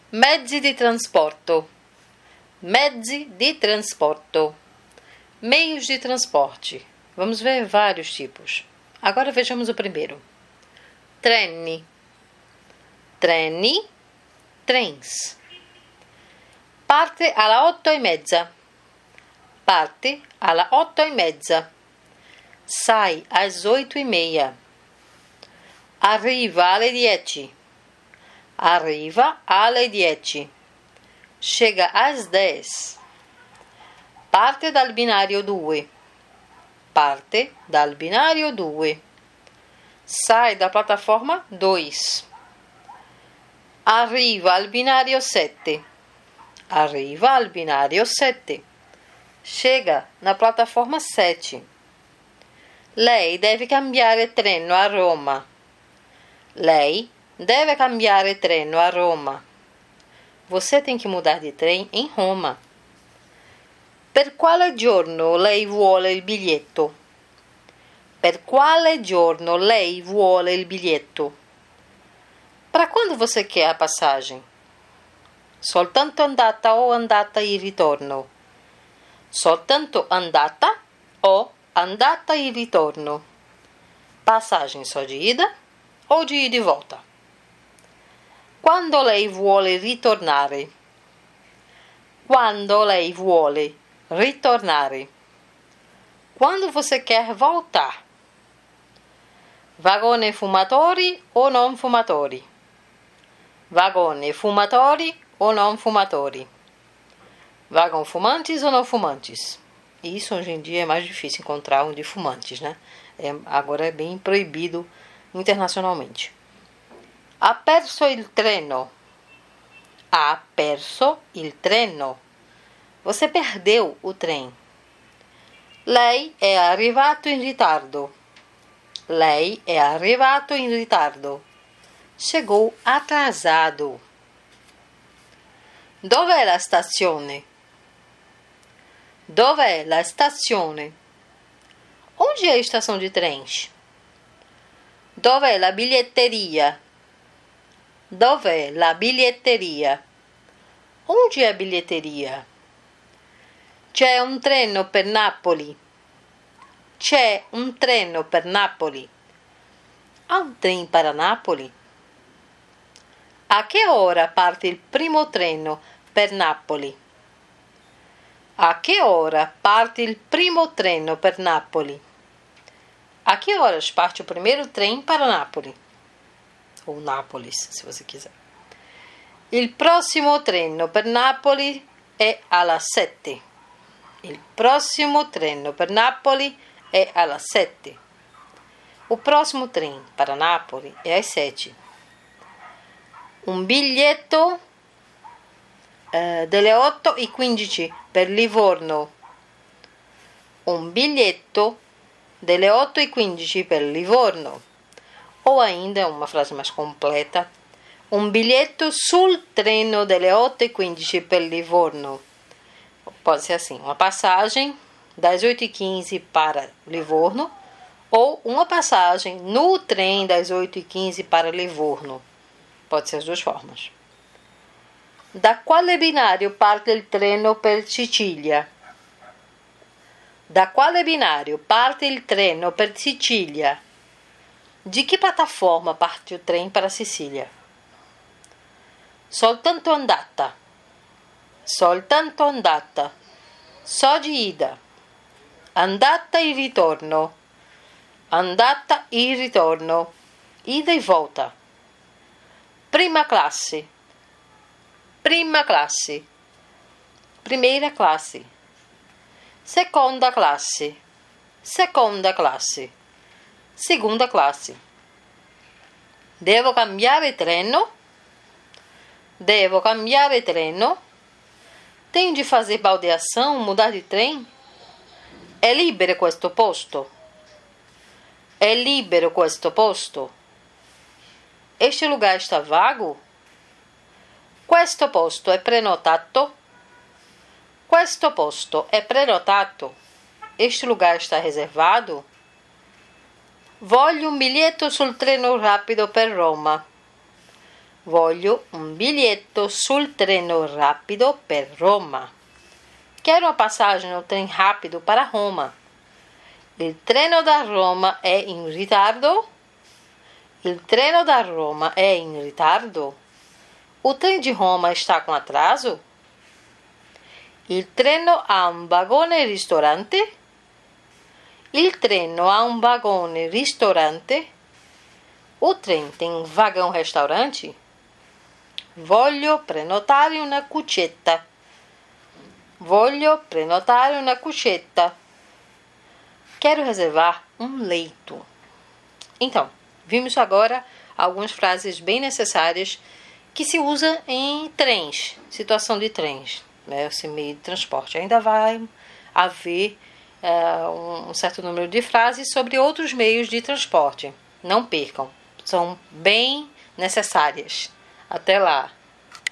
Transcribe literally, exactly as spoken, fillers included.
Mezzi di trasporto. Mezzi di trasporto. Meios de transporte. Vamos ver vários tipos. Agora vejamos o primeiro. Treni. Treni. Trens. Parte alla otto e mezza. Parte alla otto e mezza. Sai às oito e meia. Arriva alle dieci. Arriva alle dieci. Chega às dez. Parte dal binario due. Parte dal binario due. Sai da plataforma dois. Arriva al binario sette. Arriva al binario sette. Chega na plataforma sete. Lei deve cambiare treno a Roma. Lei deve cambiare treno a Roma. Você tem que mudar de trem em Roma. Per quale giorno lei vuole il biglietto? Per quale giorno lei vuole il biglietto? Para quando você quer a passagem? Soltanto andata o andata e ritorno? Soltanto andata o andata e ritorno? Passagem só de ida ou de ida e volta? Quando lei vuole ritornare? Quando lei vuole ritornare? Quando você quer voltar? Vagone fumatori o non fumatori? Vagone fumatori o non fumatori? Vagão fumantes ou não fumantes? Isso hoje em dia é mais difícil encontrar um de fumantes, né? É, agora é bem proibido internacionalmente. Ha perso il treno. Ha perso il treno. Você perdeu o trem. Lei è arrivato in ritardo. Lei è arrivato in ritardo. Chegou atrasado. Dov'è la stazione? Dov'è la stazione? Onde é a estação de trens? Dov'è la biglietteria? Dov'è la biglietteria? Onde é a bilheteria? C'è un treno per Napoli. C'è un treno per Napoli. Há um trem para Napoli? A che ora parte il primo treno per Napoli? A che ora parte il primo treno per Napoli? A que horas parte o primeiro trem para Nápoles? Ou Nápoles, se você quiser. Il prossimo treno per Napoli è alla sette. Il prossimo treno per Napoli è alla sette. O próximo trem para Nápoles é às sete. Un biglietto eh, delle otto e quindici per Livorno. Un biglietto delle otto e quindici per Livorno. Ou ainda, uma frase mais completa, un biglietto sul treno delle otto e quindici per Livorno. Pode ser assim, uma passagem das oito e quinze para Livorno ou uma passagem no trem das oito e quinze para Livorno. Pode ser as duas formas. Da quale binario parte il treno per Sicilia? Da quale binario parte il treno per Sicilia? De que plataforma parte o trem para Sicília? Soltanto andata. Soltanto andata. Só de ida. Andata e ritorno. Andata e ritorno. Ida e volta. Prima classe. Prima classe. Primeira classe. Seconda classe. Seconda classe. Segunda classe. Devo cambiare treno? Devo cambiare treno? Tenho de fazer baldeação, mudar de trem? È libero questo posto? È libero questo posto? Este lugar está vago? Questo posto è prenotato? Questo posto è prenotato? Este lugar está reservado? Voglio un biglietto sul treno rapido per Roma. Voglio un biglietto sul treno rapido per Roma. Quero uma passagem no trem rápido para Roma. Il treno da Roma è in ritardo? Il treno da Roma è in ritardo? O trem de Roma está com atraso? Il treno ha un vagone ristorante? Il treno ha un vagone ristorante? O trem tem um vagão restaurante? Voglio prenotare una cuccetta. Voglio prenotare una cuccetta. Quero reservar um leito. Então, vimos agora algumas frases bem necessárias que se usa em trens, situação de trens, né, esse meio de transporte. Ainda vai haver uh, um certo número de frases sobre outros meios de transporte. Não percam, são bem necessárias. Até lá!